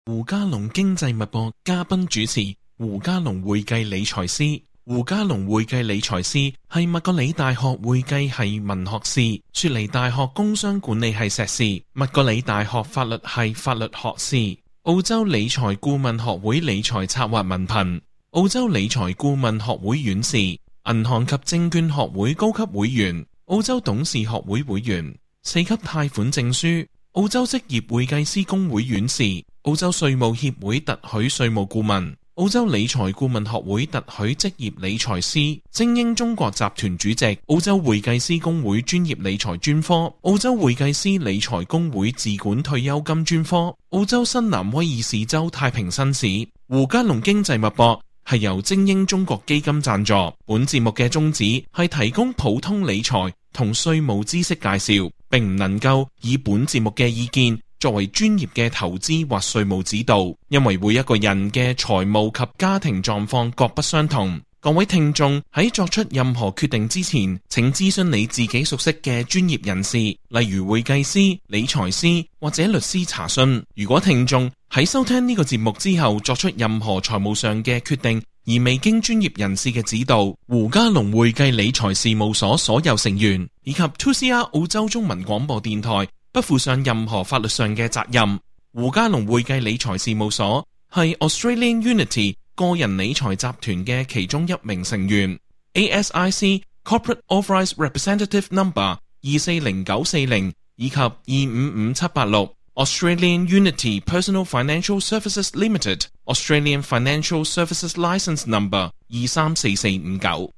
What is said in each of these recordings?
胡嘉龍經濟脈搏嘉賓主持胡嘉龍會計理財師。胡嘉龍會計理財師係麥格里大學會計系文學士、雪梨大學工商管理系碩士、麥格里大學法律系法律學士、澳洲理財顧問學會理財策劃文憑、澳洲理財顧問學會院士、銀行及證券學會高級會員、澳洲董事學會會員、4級貸款證書、澳洲職業會計師公會院士、澳洲稅務協會特許稅務顧問、澳洲理財顧問學會特許職業理財師、精英中國集團主席、澳洲會計師公會專業理財專科、澳洲會計師理財公會自管退休金專科、澳洲新南威爾士州太平紳士。胡嘉龍經濟脈搏係由精英中國基金贊助，本節目嘅宗旨係提供普通理財同稅務知識介紹，並唔能夠以本節目嘅意見作為專業嘅投資或稅務指導，因為每一個人嘅財務及家庭狀況各不相同。各位聽眾喺作出任何決定之前，請諮詢你自己熟悉嘅專業人士，例如會計師、理財師或者律師查詢。如果聽眾喺收聽呢個節目之後作出任何財務上嘅決定，而未經專業人士嘅指導，胡嘉龍會計理財事務所所有成員以及 2CR 澳洲中文廣播電台不負上任何法律上嘅責任。胡嘉龍會計理財事務所係 Australian Unity 個人理財集團嘅其中一名成員， ASIC Corporate Authorised Representative Number 240940以及255786 Australian Unity Personal Financial Services Limited Australian Financial Services Licence Number 234459。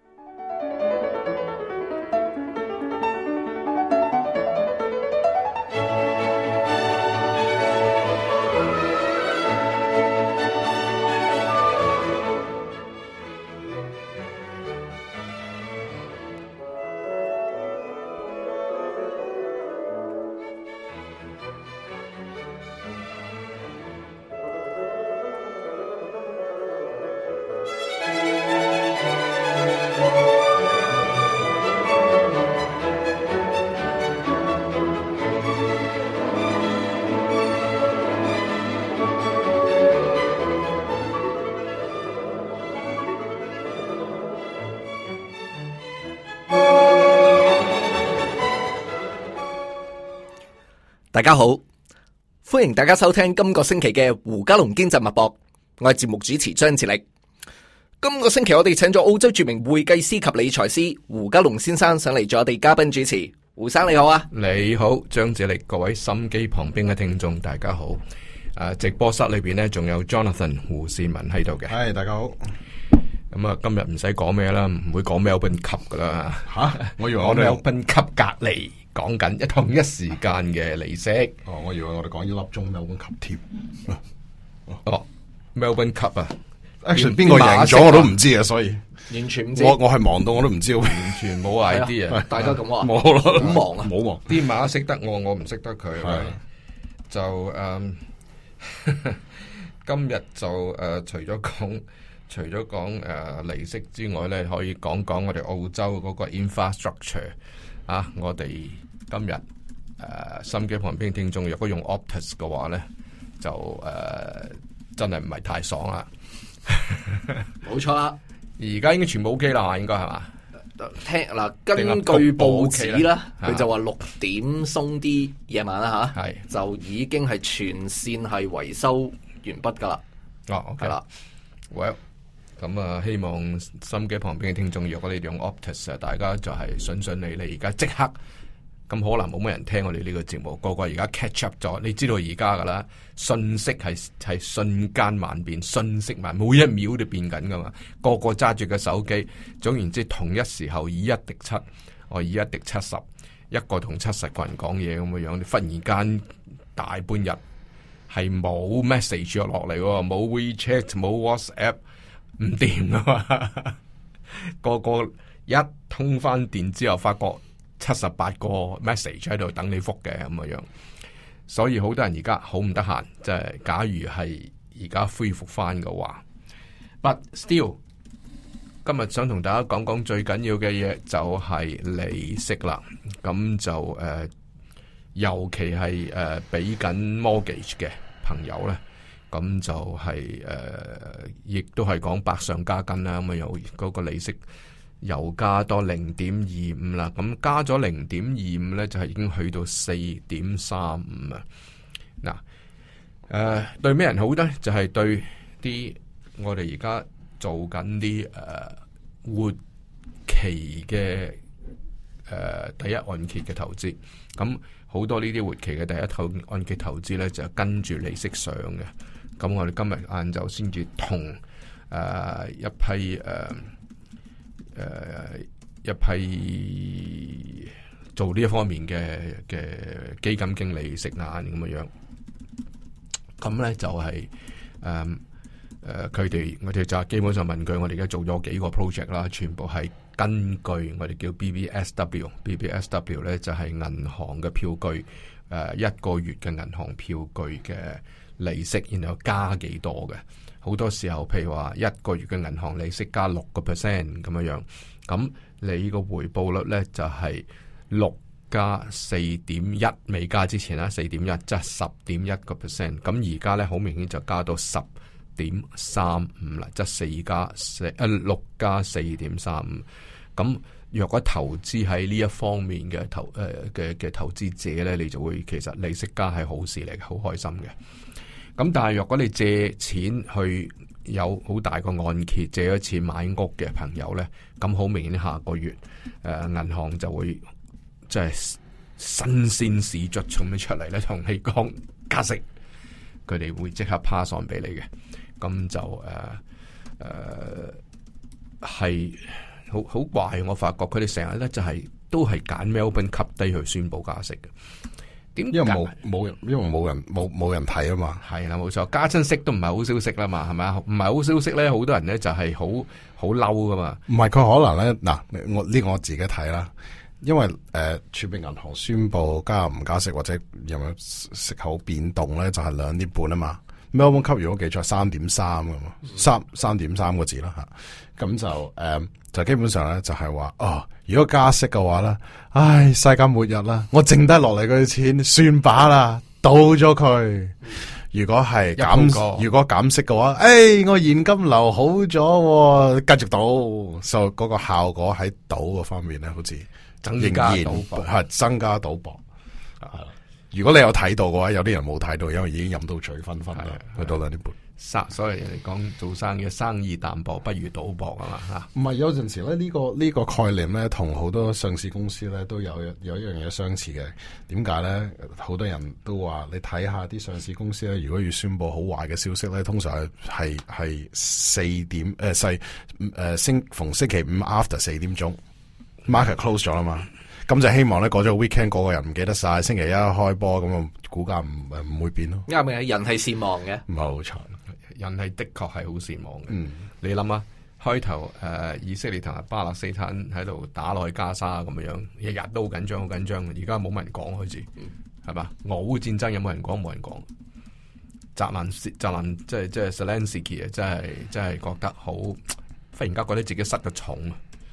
大家好，歡迎大家收聽今個星期嘅胡嘉龍經濟脈搏，我係節目主持張志力。今個星期我哋請咗澳洲著名會計師及理財師胡嘉龍先生上嚟做我哋嘉賓主持。胡生你好啊！ 你好，張志力，各位心機旁邊嘅聽眾大家好。直播室裏邊呢仲有 Jonathan 胡善文喺度嘅。 係，大家好。 咁啊，今日唔使講咩啦，唔會講 Melbourne Cup 噶啦。 吓，我以為我哋 Melbourne Cup 隔離講緊同一時間嘅離析。 哦，我以為我哋講一粒鐘 Melbourne Cup 添。 哦 ，Melbourne Cup 啊 ，actually 邊個贏咗我都唔知啊，所以完全唔知。 我係忙到我都唔知， 完全冇 idea。 大家咁話， 冇咯， 好忙啊， 冇忙。 啲馬識得我唔識得佢。就今日就除咗講利息之外咧，可以講講我哋澳洲嗰個 infrastructure 啊！我哋今日心機旁邊聽眾，若果用 Optus 嘅話咧，就真係唔係太爽啦。 冇錯啦， 而家應該全部 OK 啦，應該係嘛？ 聽嗱，根據報紙啦，佢就話6點鬆啲夜晚啦吓，就已經係全線係維修完畢噶啦。 哦，OK 啦。Well， 咁啊，希望心機旁邊嘅聽眾，如果你哋用 Optus 啊，大家就係順利，而家即刻咁可能冇乜人聽我哋呢個節目，個個而家 catch up 咗。你知道而家噶啦，信息係瞬間萬變，信息萬每一秒都變緊噶嘛，個個揸住個手機，總言之同一時候以1敵7，我以1敵70，一個同70個人講嘢咁嘅樣，你忽然間大半日係冇 message 落嚟，冇 WeChat， 冇 WhatsApp。唔掂啊嘛！個個一通翻電之後，發覺78個 message 喺度等你覆嘅咁嘅樣，所以好多人而家好唔得閒。即係假如係而家恢復翻嘅話 ，but still， 今日想同大家講講最緊要嘅嘢就係利息啦。咁就尤其係俾緊 mortgage 嘅朋友咧。 咁就係亦都係講百上加斤啦。咁啊，有嗰個利息又加多0.25啦。咁加咗0.25咧，就係已經去到4.35啊。嗱，對咩人好咧？就係對啲我哋而家做緊啲活期嘅第一按揭嘅投資。咁好多呢啲活期嘅第一按揭投資咧，就跟住利息上嘅。咁我哋今日晏晝先至同一批做呢一方面嘅基金經理食晏咁嘅樣。咁咧就係我哋就基本上問佢，我哋而家做咗幾個 project 啦，全部係根據我哋叫 BBSW 咧就係銀行嘅票據，一個月嘅銀行票據嘅利息，然後加幾多嘅。好多時候譬如話一個月嘅銀行利息加6%咁樣樣，咁你個回報率咧就係6加4.1，未加之前啦4.1，即係10.1%。咁而家咧好明顯就加到10.35啦，即係6加4.35。咁若果投資喺呢一方面嘅投資者咧，你就會其實利息加係好事嚟，好開心嘅。咁但係若果你借錢去有好大個按揭，借咗錢買屋嘅朋友咧，咁好明顯下個月銀行就會即係新鮮事卒咁樣出嚟咧，同你講加息，佢哋會即刻 pass on 俾你嘅。咁就係好怪，我發覺佢哋成日咧就係都係揀 Melbourne Cup Day去宣佈加息嘅。點？因為冇人睇啊嘛。 係啦，冇錯，加親息都唔係好消息啦嘛，係咪啊？唔係好消息咧，好多人咧就係好嬲噶嘛。 唔係佢可能咧嗱，我自己睇啦。因為儲備銀行宣佈加唔加息或者有冇息口變動咧，就係2年半啊嘛。Melbourne Cup 如果記錯3.3噶嘛，3.3個字啦吓。咁就基本上咧就係話如果加息嘅話咧，唉，世界末日啦！我剩低落嚟嗰啲錢算把啦，倒咗佢。如果係減息嘅話，我現金流好咗，繼續倒，所以嗰個效果喺賭嗰方面咧，好似仍然係增加賭博。如果你有睇到嘅話，有啲人冇睇到，因為已經飲到醉醺醺啦，去到2年半。 所以人哋講做生意淡薄不如賭博啊嘛吓。 唔係有陣時咧呢個概念咧，同好多上市公司咧都有一樣嘢相似嘅。點解咧？好多人都話你睇下啲上市公司咧，如果要宣布好壞嘅消息咧，通常係逢星期5 after 4點鐘 market close 咗啦嘛。咁就希望咧過咗個 weekend，個人唔記得晒，星期一開波咁啊，股價唔會變咯。 啱嘅，人係善忘嘅， 冇錯， 人係的確係好善忘嘅。你諗下，開頭以色列同埋巴勒斯坦喺度打落去加沙咁樣，日日都好緊張，好緊張。而家冇乜人講開始，係嘛？俄烏戰爭有冇人講？冇人講。澤連即係 Zelensky 啊，真係覺得好，忽然間覺得自己失咗重。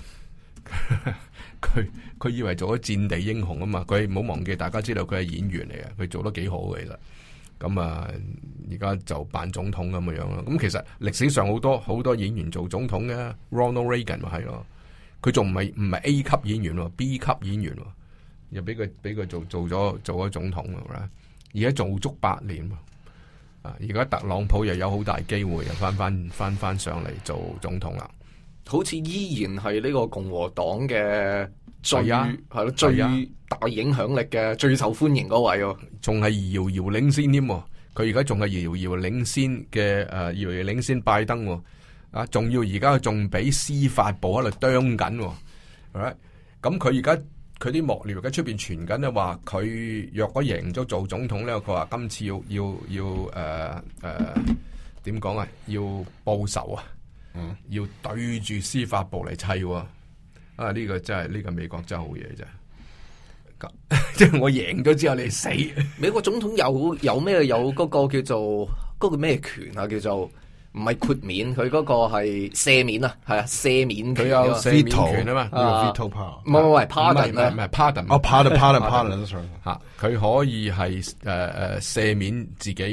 佢以為做咗戰地英雄啊嘛，佢唔好忘記，大家知道佢係演員嚟嘅，佢做得幾好嘅其實。咁而家就扮總統咁樣咯。咁其實歷史上好多演員做總統嘅，Ronald Reagan 咪係咯，佢仲唔係 A 級演員喎，B 級演員喎，又俾佢做咗總統啦。而家做足8年，而家特朗普又有好大機會又翻上嚟做總統啦。 好似依然係呢個共和黨嘅最大影響力嘅最受歡迎嗰位喎， 仲係遙遙領先添。佢而家仲係遙遙領先嘅遙遙領先拜登喎，仲要而家仲俾司法部喺度啄緊。咁佢而家佢啲幕僚喺出邊傳緊咧，話佢若果贏咗做總統咧，佢話今次要點講啊？要報仇啊！要對住司法部嚟砌喎。呢個真係呢個美國真係好嘢啫。即係我贏咗之後你死。 美國總統有咩有嗰個叫做嗰個咩權啊？叫做唔係豁免，佢嗰個係赦免啊，係啊，赦免權。 佢有赦免權啊嘛， 呢個 veto power。 唔係 pardon 咧， 唔係 pardon。 pardon 吓，佢可以係赦免自己嘅。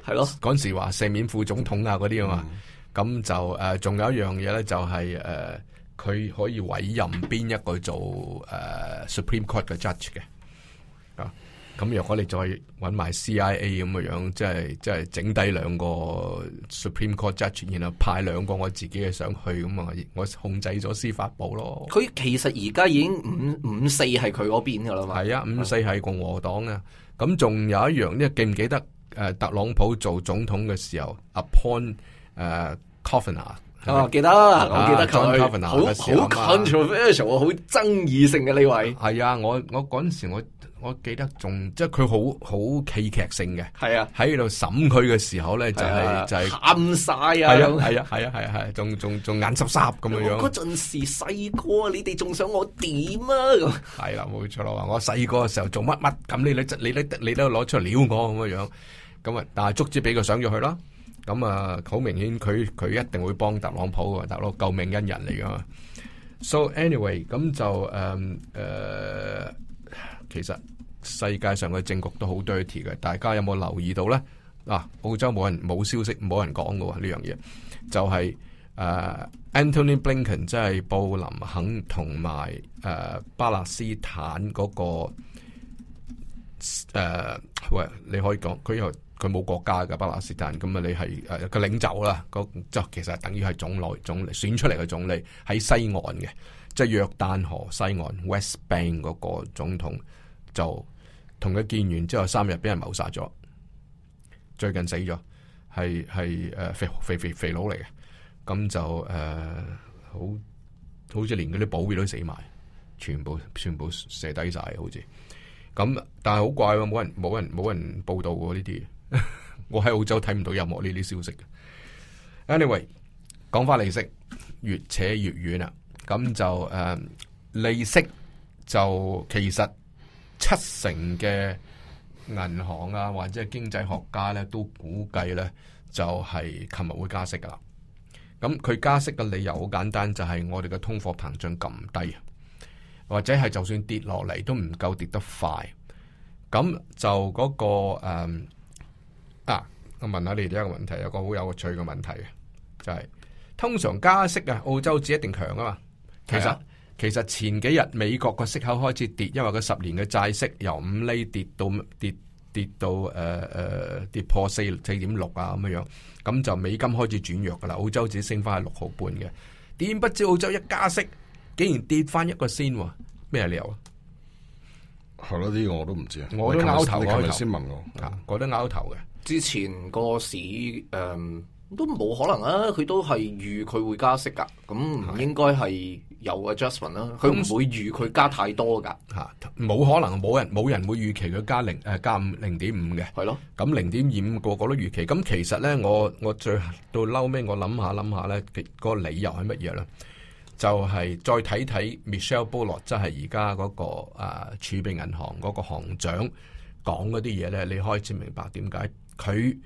係咯， 嗰陣時話赦免副總統啊嗰啲啊嘛，咁就仲有一樣嘢咧，就係佢可以委任邊一個做Supreme Court 嘅 judge 嘅啊。咁若果你再揾埋 CIA 咁嘅樣，即係整低兩個 Supreme Court judge，然後派兩個我自己嘅上去，咁啊，我控制咗司法部咯。 佢其實而家已經5-4係佢嗰邊噶啦嘛。 係啊，5-4係共和黨啊。咁仲有一樣呢，記唔記得特朗普做總統嘅時候 appoint Kavanaugh？ 記得，我記得佢 John Kavanaugh 嘅時候好 controversial，好爭議性嘅呢位。 係啊，我嗰陣時我記得仲即係佢好戲劇性嘅。 係啊， 喺度審佢嘅時候咧，就係喊晒啊！ 係啊，仲眼濕濕咁樣樣。 嗰陣時細個，你哋仲想我點啊？咁係啦，冇錯啦。話我細個嘅時候做乜乜咁，你都攞出嚟撩我咁樣樣。咁啊，但係足之俾佢上咗去啦。咁啊，好明顯佢一定會幫特朗普嘅，大佬救命恩人嚟噶嘛。So anyway，咁就其實世界上嘅政局都好 dirty 嘅，大家有冇留意到咧？澳洲冇消息，冇人講嘅喎呢樣嘢，就係Anthony Blinken 即係布林肯同埋巴勒斯坦嗰個喂，你可以講佢冇國家嘅巴勒斯坦，咁啊你係個領袖啦，就其實等於係總理選出嚟嘅總理喺西岸嘅，即係約旦河西岸 West Bank 嗰個總統，就同佢見完之後3日俾人謀殺咗，最近死咗，係肥佬嚟嘅，咁就好似連嗰啲保鏢都死埋，全部射低晒，好似咁，但係好怪喎，冇人報道過呢啲。我喺澳洲睇唔到任何呢啲消息嘅。Anyway， 講翻利息越扯越遠啦。咁就利息就其實70%嘅銀行啊或者係經濟學家咧都估計咧就係琴日會加息噶啦。咁佢加息嘅理由好簡單，就係我哋嘅通貨膨脹咁低，或者係就算跌落嚟都唔夠跌得快。咁就嗰個我問下你哋一個問題，有個好有趣嘅問題嘅，就係通常加息啊，澳洲紙一定強啊嘛。其實前幾日美國個息口開始跌，因為個10年嘅債息由5厘跌到跌破4.6啊咁樣，咁就美金開始轉弱噶啦，澳洲紙升翻係6毫半嘅。點不知澳洲一加息，竟然跌翻1個仙喎，咩理由啊？ 係咯，呢個我都唔知啊。 我都拗頭， 你琴日先問我， 我都拗頭嘅。 之前個市都冇可能啊，佢都係預佢會加息噶，咁唔應該係有 adjustment 啦。佢唔會預佢加太多噶， 冇可能，冇人會預期佢加0.5嘅，係咯。咁0.25個個都預期。咁其實咧，我最到嬲尾，我諗下咧，個理由係乜嘢咧？就係再睇睇 Michelle Bullock， 即係而家嗰個儲備銀行嗰個行長講嗰啲嘢咧，你開始明白點解佢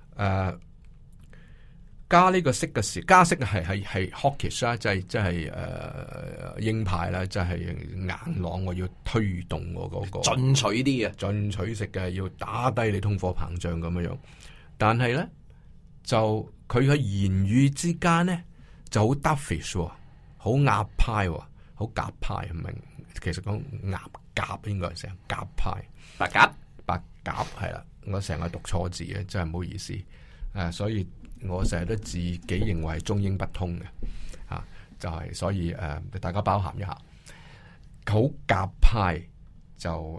加呢個息嘅時，加息係 hawkish 啦，即係鷹派啦，即係硬朗，我要推動我嗰個進取啲嘅， 進取式嘅，要打低你通貨膨脹咁樣。但係咧，就佢嘅言語之間咧就好 dovish 喎。好鴿派，好鴿派，唔明，其實講鴿應該係成鴿派，白鴿係啦，我成日讀錯字嘅，真係唔好意思，所以我成日都自己認為係中英不通嘅，就係所以大家包涵一下，好鴿派就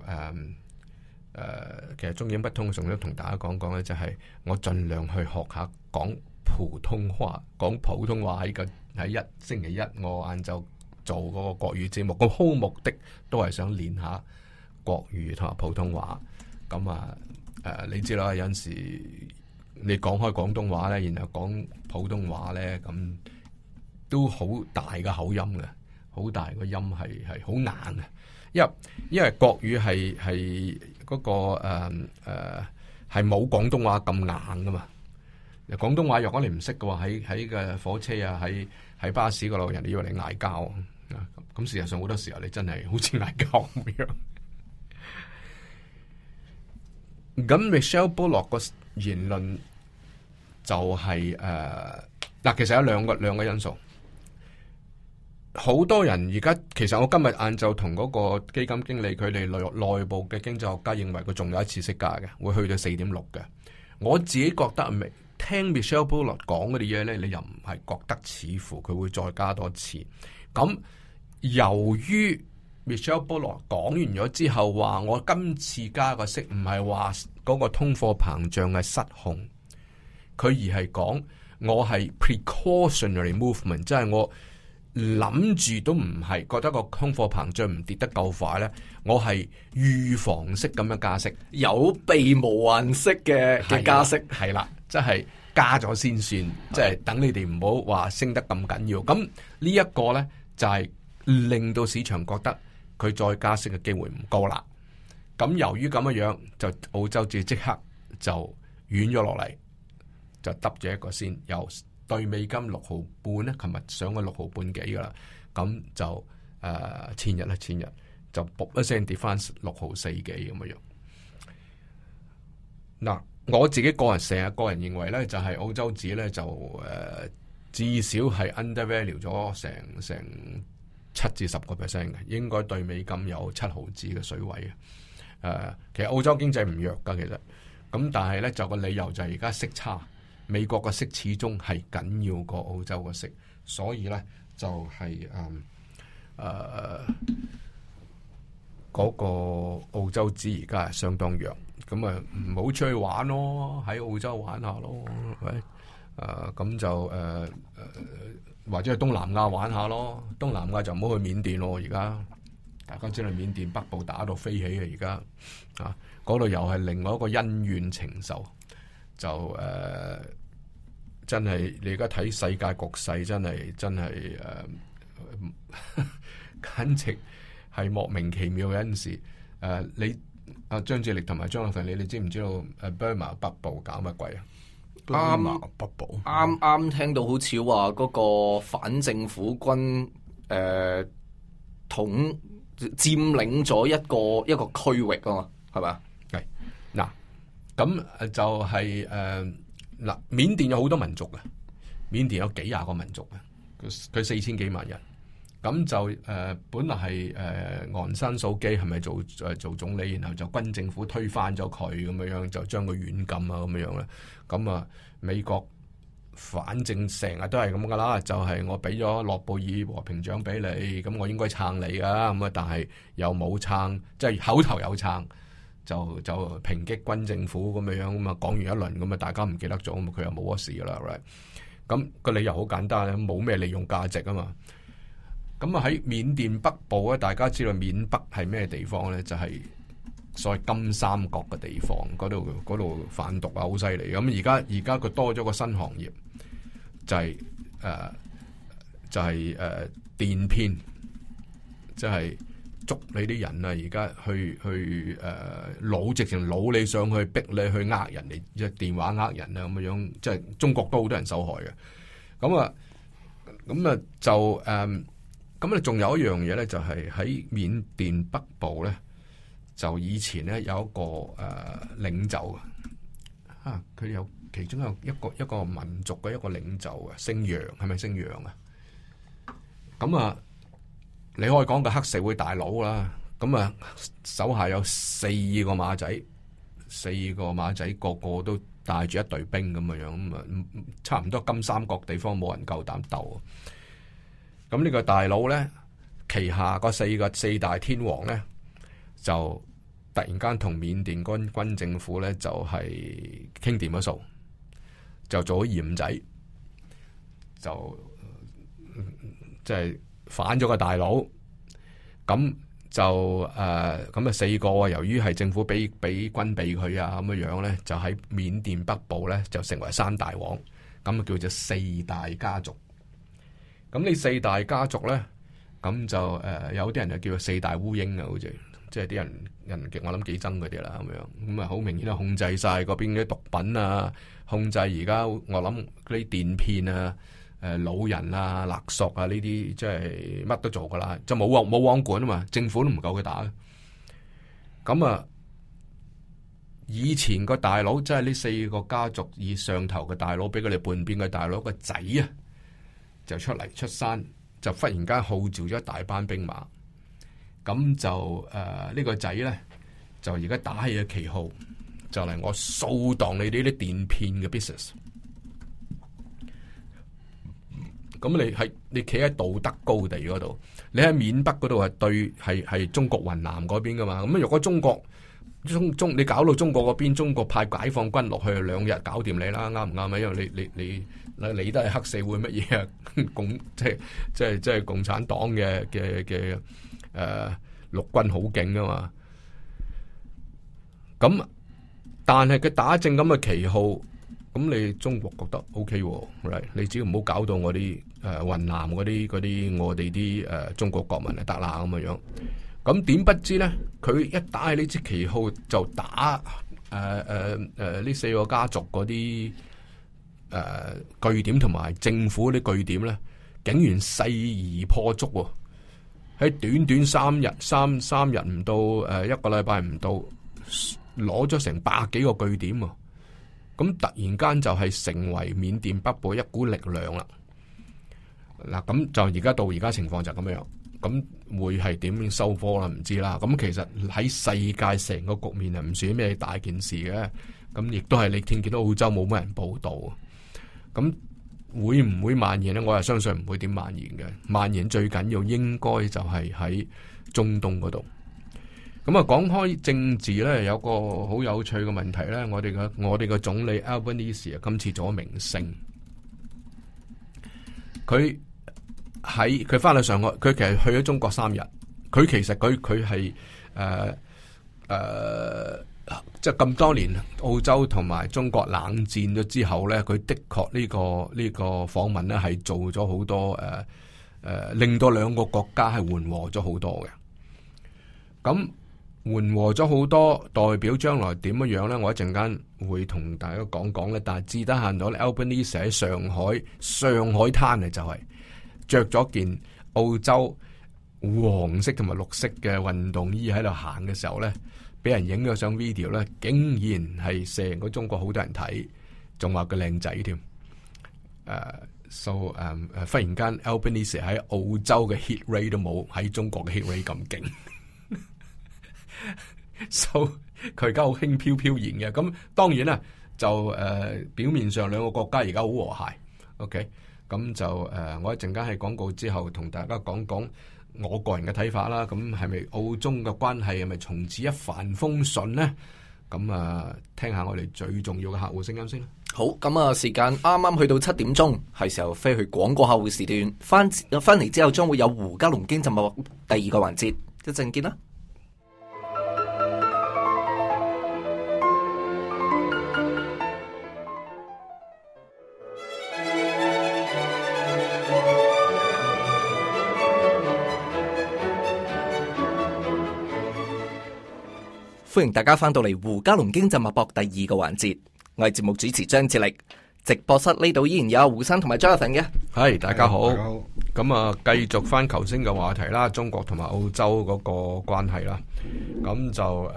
其實中英不通，仲要同大家講講咧，就係我盡量去學下講普通話喺星期一我晏晝做嗰個國語節目，個好目的都係想練下國語同埋普通話。咁你知啦，有陣時你講開廣東話咧，然後講普通話咧，咁都好大嘅口音嘅，好大個音係好硬嘅。因為國語係嗰個係冇廣東話咁硬噶嘛。廣東話若果你唔識嘅話，喺個火車啊，喺巴士嗰度，人哋以為你嗌交，咁事實上好多時候你真係好似嗌交咁樣。咁 Michelle Bullock 個言論就係嗱，其實有兩個因素。好多人而家其實我今日晏晝同嗰個基金經理佢哋內部嘅經濟學家認為佢仲有一次息加嘅，會去到4.6嘅。我自己覺得聽 Michelle Bullock 講嗰啲嘢咧，你又唔係覺得似乎佢會再加多次。咁由於 Michelle Bullock 講完咗之後話，我今次加個息唔係話嗰個通貨膨脹係失控，佢而係講我係 precautionary movement， 即係我諗住都唔係覺得個通貨膨脹唔跌得夠快咧，我係預防式咁樣加息， 有備無患式嘅加息， 係啦，即係加咗先算，即係等你哋唔好話升得咁緊要。咁呢一個咧就係令到市場覺得佢再加息嘅機會唔高啦。咁由於咁樣樣，就澳洲紙即刻就軟咗落嚟，就揼咗一個先，由對美金6毫半咧，琴日上咗6毫半幾噶啦，咁就前日就卜一聲跌翻6毫4幾咁樣。嗱，我自己個人認為咧，就係澳洲紙咧就至少係 undervalue 咗成7至10%嘅，應該對美金有7毫子嘅水位嘅。其實澳洲經濟唔弱噶，其實咁，但係咧就個理由就係而家息差。美國嘅息始終係緊要過澳洲嘅息，所以咧就係嗰個澳洲紙而家係相當弱，咁啊唔好出去玩咯，喺澳洲玩下咯，係咪？咁就或者去東南亞玩下咯，東南亞就唔好去緬甸咯，而家大家知道緬甸北部打到飛起啊，而家嗰度又係另外一個恩怨情仇。就真係你而家睇世界局勢，真係簡直係莫名其妙嘅陣時。你張志力同埋張立凡，你知唔知道Burma 北部搞乜鬼啊？ 啱北部啱聽到好似話嗰個反政府軍佔領咗一個區域啊嘛，係咪？ 係嗱。咁就係嗱，緬甸有好多民族嘅，緬甸有幾廿個民族嘅，佢4000幾萬人。咁就本來係昂山素基係咪做總理，然後就軍政府推翻咗佢咁樣，就將佢軟禁啊咁樣咧。咁啊，美國反正成日都係咁噶啦，就係我俾咗諾貝爾和平獎俾你，咁我應該撐你噶，咁啊，但係又冇撐，即係口頭有撐。就抨擊軍政府咁樣，咁啊講完一輪咁啊，大家唔記得咗，咁佢又冇乜事噶啦，right？咁個理由好簡單，冇咩利用價值啊嘛。咁啊喺緬甸北部咧，大家知道緬北係咩地方咧？就係所謂金三角嘅地方，嗰度販毒啊，好犀利。咁而家佢多咗個新行業，就係電騙，即係。捉你啲人啊！而家去直情擄你上去，逼你去呃人哋，即係電話呃人啊咁樣，即係中國都好多人受害嘅。咁啊就咁啊，仲有一樣嘢咧，就係喺緬甸北部咧，就以前咧有一個領袖啊，佢有其中有一個民族嘅一個領袖啊，姓楊，係咪姓楊啊？咁啊。你可以講個黑社會大佬啦，咁啊手下有4個馬仔，個個都帶住一隊兵咁樣，咁啊差唔多金三角地方冇人夠膽鬥。咁呢個大佬咧，旗下個四大天王咧，就突然間同緬甸軍政府咧就係傾掂咗數，就做咗鹽仔，就即係。反咗個大佬，咁就咁啊4個，由於係政府俾軍備佢啊咁樣咧，就喺緬甸北部咧就成為三大王，咁啊叫做4大家族。咁呢4大家族咧，咁就有啲人就叫做4大烏蠅啊，好似即係啲人我諗幾憎佢哋啦咁樣，咁啊好明顯啊控制晒嗰邊嘅毒品啊，控制而家我諗嗰啲電騙啊。老人啊、勒索啊呢啲，即係乜都做噶啦，就冇網管啊嘛，政府都唔夠佢打。咁啊， 以前個大佬，即係呢4個家族以上頭嘅大佬，俾佢哋叛變嘅大佬個仔啊，就出嚟出山，就忽然間號召咗一大班兵馬，咁就呢個仔咧就而家打起咗旗號，就嚟我掃蕩你哋呢啲電騙嘅 business。咁你企喺道德高地嗰度，你喺緬北嗰度係中國雲南嗰邊噶嘛？咁如果中國你搞到中國嗰邊，中國派解放軍落去2日搞掂你啦，啱唔啱啊？因為你都係黑社會乜嘢啊？即係共產黨嘅陸軍好勁噶嘛？咁但係佢打正咁嘅旗號，咁你中國覺得 OK 喎，你只要唔好搞到我啲雲南嗰啲我哋啲中國國民就得啦咁嘅樣。咁點不知咧？佢一打起呢支旗號就打呢4個家族嗰啲據點同埋政府啲據點咧，竟然勢而破竹喎！喺短短3日唔到1個禮拜唔到，攞咗成100幾個據點喎！咁突然間就係成為緬甸北部一股力量啦！嗱，咁就到而家情況就咁樣。咁會係點樣收科啦？唔知啦。咁其實喺世界成個局面係唔算咩大件事嘅。咁亦都係你見到澳洲冇乜人報道。咁會唔會蔓延呢？我係相信唔會點蔓延嘅。蔓延最緊要應該就係喺中東嗰度。咁啊，講開政治咧，有個好有趣嘅問題咧。我哋嘅總理 Albanese 今次做咗明星，佢翻去上海，佢其實去咗中國3日。佢其實佢係即係咁多年澳洲同埋中國冷戰咗之後咧，佢的確呢個訪問咧係做咗好多令到兩個國家係緩和咗好多嘅。咁緩和咗好多，代表將來點樣樣咧？我一陣間會同大家講講咧。但係至得閒到咧 Albanese 喺上海灘啊，就係着咗件澳洲黃色同埋綠色嘅運動衣喺度行嘅時候咧，俾人影咗上 video 咧，竟然係成個中國好多人睇，仲話佢靚仔添。忽然間 Albanese 喺澳洲嘅 hit rate 都冇喺中國嘅 hit rate 咁勁。佢而家好輕飄飄然嘅。咁當然啦，就表面上兩個國家而家好和諧。OK。咁就我一陣間喺廣告之後同大家講講我個人嘅睇法啦。咁係咪澳中嘅關係係咪從此一帆風順呢？咁聽下我哋最重要嘅客戶聲音先啦。 好，咁啊，時間啱啱去到7點鐘，係時候飛去廣告客戶時段。翻嚟之後，將會有胡嘉龍經濟脈第2個環節，一陣見啦。歡迎大家翻到嚟胡嘉龍經濟脈搏第2個環節，我係節目主持張志力。直播室呢度依然有胡生同埋 Jonathan 嘅。 係，大家好。咁啊，繼續翻頭先嘅話題啦，中國同埋澳洲嗰個關係啦。咁就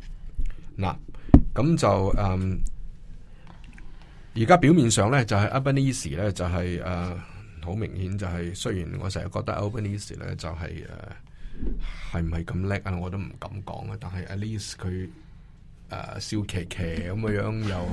而家表面上咧就係 Albanese 咧就係好明顯就係，雖然我成日覺得 Albanese 咧就係係唔係咁叻啊？我都唔敢講啊！但係 at least 佢笑騎騎咁嘅樣又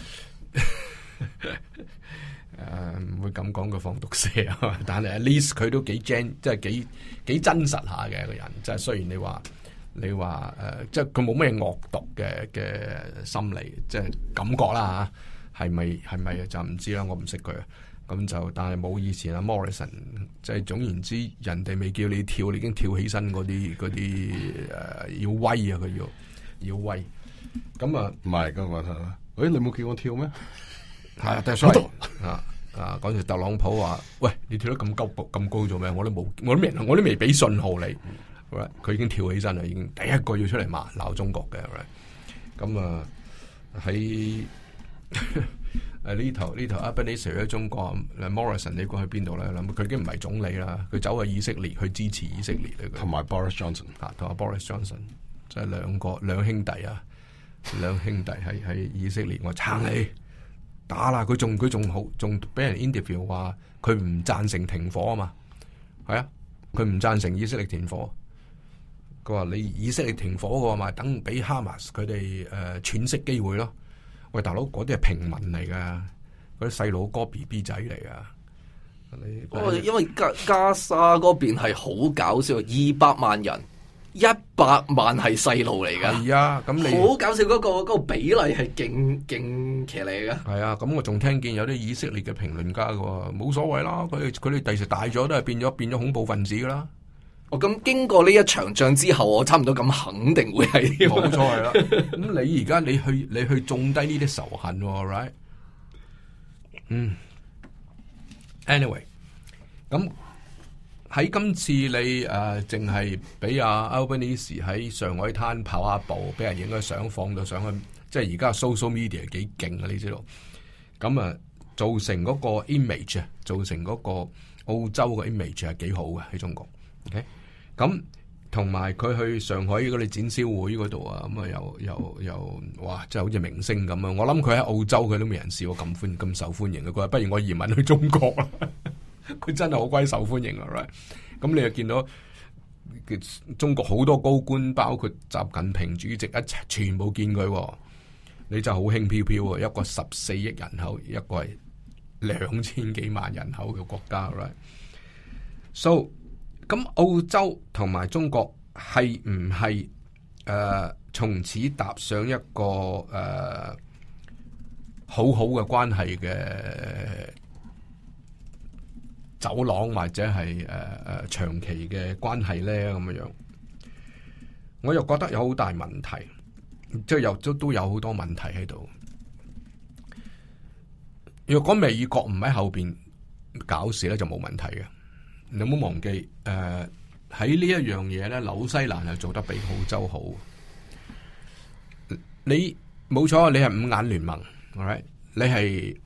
唔會咁講佢放毒蛇啊！但係 at least 佢都幾即係幾真實下嘅一個人。即係雖然你話即係佢冇咩惡毒嘅心理，即係感覺啦嚇，係咪就唔知啦？我唔識佢。咁就，但係冇以前阿 Morrison， 即係總言之，人哋未叫你跳，你已經跳起身嗰啲要威啊！佢要威。咁啊，唔係咁話，你冇叫我跳咩？係啊，但係所嗰時特朗普話：喂，你跳得咁高做咩？我都未俾信號你。佢已經跳起身啦，已經第一個要出嚟鬧中國嘅。咁啊喺。呢頭 Albanese 喺中國 ，Morrison 你估去邊度咧？佢已經唔係總理啦，佢走去以色列去支持以色列同埋 Boris Johnson 同埋 Boris Johnson， 即係兩兄弟啊， 兩兄弟喺以色列，我撐你打啦！佢仲好，仲俾人 interview 話佢唔贊成停火啊嘛，係啊，佢唔贊成以色列停火。佢話你以色列停火嘅話，咪等俾哈馬斯佢哋喘息機會咯。喂，大佬，嗰啲係平民嚟噶，嗰啲細佬哥 BB 仔嚟噶。 因為加沙嗰邊係好搞笑，200萬人，100萬係細路嚟噶。 係啊，咁你好搞笑嗰個比例係勁騎呢噶。 係啊，咁我仲聽見有啲以色列嘅評論家嘅喎，冇所謂啦，佢哋第時大咗都係變咗恐怖分子噶啦。 咁經過呢一場仗之後，我差唔多咁肯定會係冇錯係啦。咁你而家你去種低呢啲仇恨，right？ anyway， 咁喺今次你淨係俾阿 Albanese 喺上海灘跑下步，俾人影咗相放到上去，即係而家 social media 幾勁啊！你知道？咁造成嗰個 image 啊，造成嗰個澳洲嘅 image 係幾好嘅喺中國。OK， 咁同埋佢去上海嗰啲展銷會嗰度啊，咁又哇，真係好似明星咁啊！我諗佢喺澳洲佢都未人試過咁受歡迎嘅。佢話不如我移民去中國啦，佢真係好鬼受歡迎啊 right？ 咁你又見到中國好多高官，包括習近平主席一齊全部見佢，你真係好輕飄飄啊！一個14億人口，一個係2000幾萬人口嘅國家 right？So 咁澳洲同埋中國係唔係從此踏上一個好好嘅關係嘅走廊，或者係長期嘅關係咧？咁樣，我又覺得有好大問題，即係都有好多問題喺度。若果美國唔喺後邊搞事咧，就冇問題嘅。你唔好忘記，喺呢一樣嘢咧，紐西蘭係做得比澳洲好。你冇錯，你係五眼聯盟 ，alright？ 你係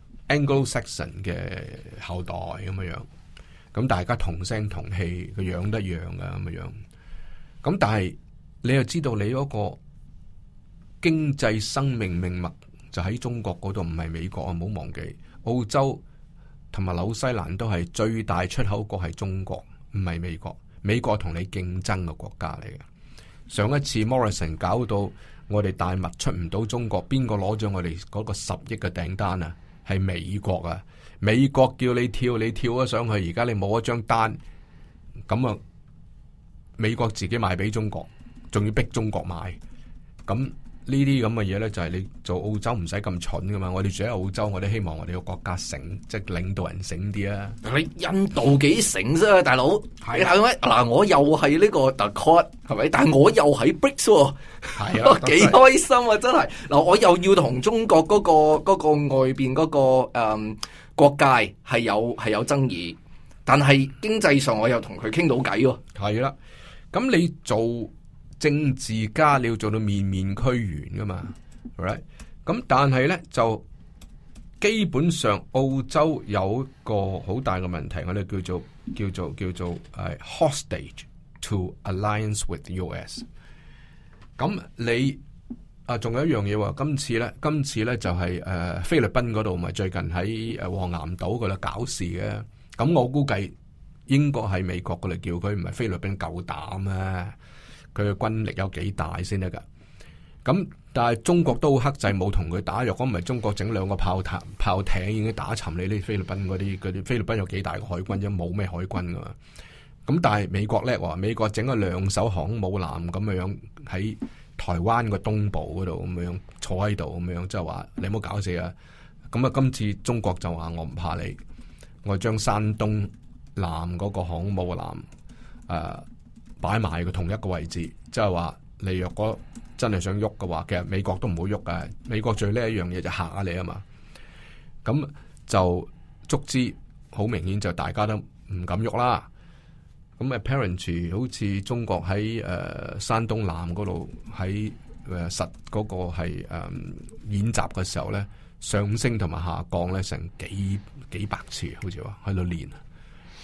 Anglo-Saxon 嘅後代咁樣，咁大家同聲同氣，個樣都一樣噶咁樣。咁但係你又知道你嗰個經濟生命命脈就喺中國嗰度，唔係美國啊！唔好忘記，澳洲同埋紐西蘭都係最大出口國係中國，唔係美國。美國同你競爭嘅國家嚟嘅。上一次 Morrison 搞到我哋大麥出唔到中國，邊個攞咗我哋嗰個10億嘅訂單啊？係美國啊！美國叫你跳，你跳咗上去，而家你冇一張單，咁啊，美國自己賣俾中國，仲要逼中國買，咁。呢啲咁嘅嘢咧，就係你做澳洲唔使咁蠢噶嘛。我哋住喺澳洲，我哋希望我哋個國家醒，即係領導人醒啲啊。 你印度幾醒啫，大佬係咪？嗱，我又係呢個 The Quad 係咪？但係我又喺 BRICS 喎， 係啊， 幾開心啊！真係嗱，我又要同中國嗰個外邊嗰個國界係有爭議，但係經濟上我又同佢傾到偈喎。 係啦，咁你做政治家你要做到面面俱圓噶嘛 right？ 咁但係咧就基本上澳洲有一個好大嘅問題，我哋叫做hostage to alliance with US。咁你仲有一樣嘢喎，今次咧就係菲律賓嗰度咪最近喺黃岩島嗰度搞事嘅，咁我估計應該係美國嗰度叫佢，唔係菲律賓夠膽啊！佢嘅軍力有幾大先得噶？咁但係中國都好克制，冇同佢打。若果唔係中國整2個炮艇已經打沉你呢菲律賓嗰啲菲律賓有幾大嘅海軍啫？冇咩海軍噶嘛。咁但係美國叻喎，美國整咗2艘航空母艦咁樣喺台灣個東部嗰度咁樣坐喺度咁樣，即係話你唔好搞死啊！咁啊，今次中國就話我唔怕你，我將山東艦嗰個航空母艦擺埋個同一個位置，即係話你若果真係想喐嘅話，其實美國都唔會喐㗎。美國最叻一樣嘢就嚇下你啊嘛。咁就足之好明顯就大家都唔敢喐啦。咁 apparently 好似中國喺山東艦嗰度喺實嗰個係演習嘅時候咧，上升同埋下降咧成幾百次，好似話喺度練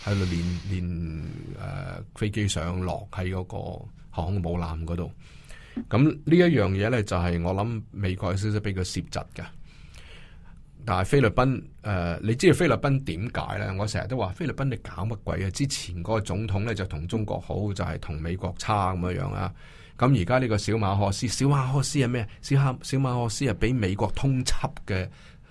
飛機上落喺嗰個航空母艦嗰度。 咁呢一樣嘢咧，就係我諗美國有少少俾佢攝窒嘅。但係菲律賓你知道菲律賓點解咧？我成日都話菲律賓你搞乜鬼啊？之前嗰個總統咧就同中國好，就係同美國差咁樣樣啊。咁而家呢個小馬可斯係咩？小馬可斯係俾美國通緝嘅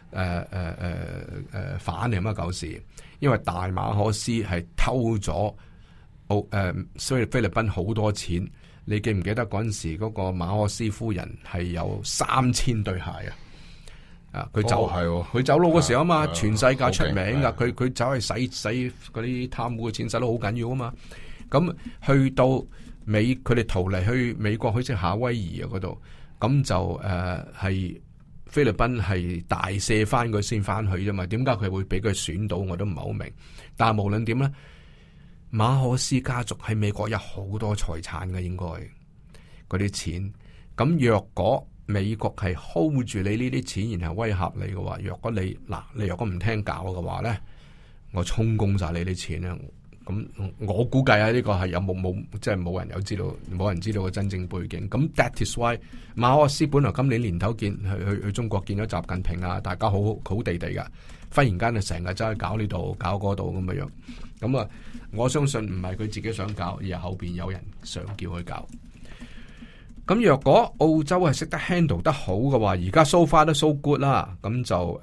反嚟乜狗事？因為大馬可斯係偷咗菲律賓好多錢。你記唔記得嗰陣時嗰個馬可斯夫人係有3000對鞋啊？佢走佢走佬嗰時候啊嘛，全世界出名噶。佢走去使嗰啲貪污嘅錢，使得好緊要啊嘛。咁去到佢哋逃離去美國，去即夏威夷啊嗰度，咁就係菲律賓係大赦翻佢先翻去啫嘛。點解佢會俾佢選到？我都唔係好明。但係無論點咧，馬可斯家族喺美國有好多財產嘅，應該嗰啲錢。咁若果美國係 hold 住你呢啲錢，然後威嚇你嘅話，若果你若果唔聽教嘅話咧，我充公晒你啲錢咧。咁我估計啊，呢個係有冇即係冇人知道個真正背景。咁 that is why 馬可斯本來今年年頭去中國見咗習近平啊，大家好地地噶，忽然間就成日走去搞呢度搞嗰度咁樣。咁啊，我相信唔係佢自己想搞，而係後邊有人想叫佢搞。咁若果澳洲係識得 handle 得好嘅話，而家 so far 都 so good 啦，咁就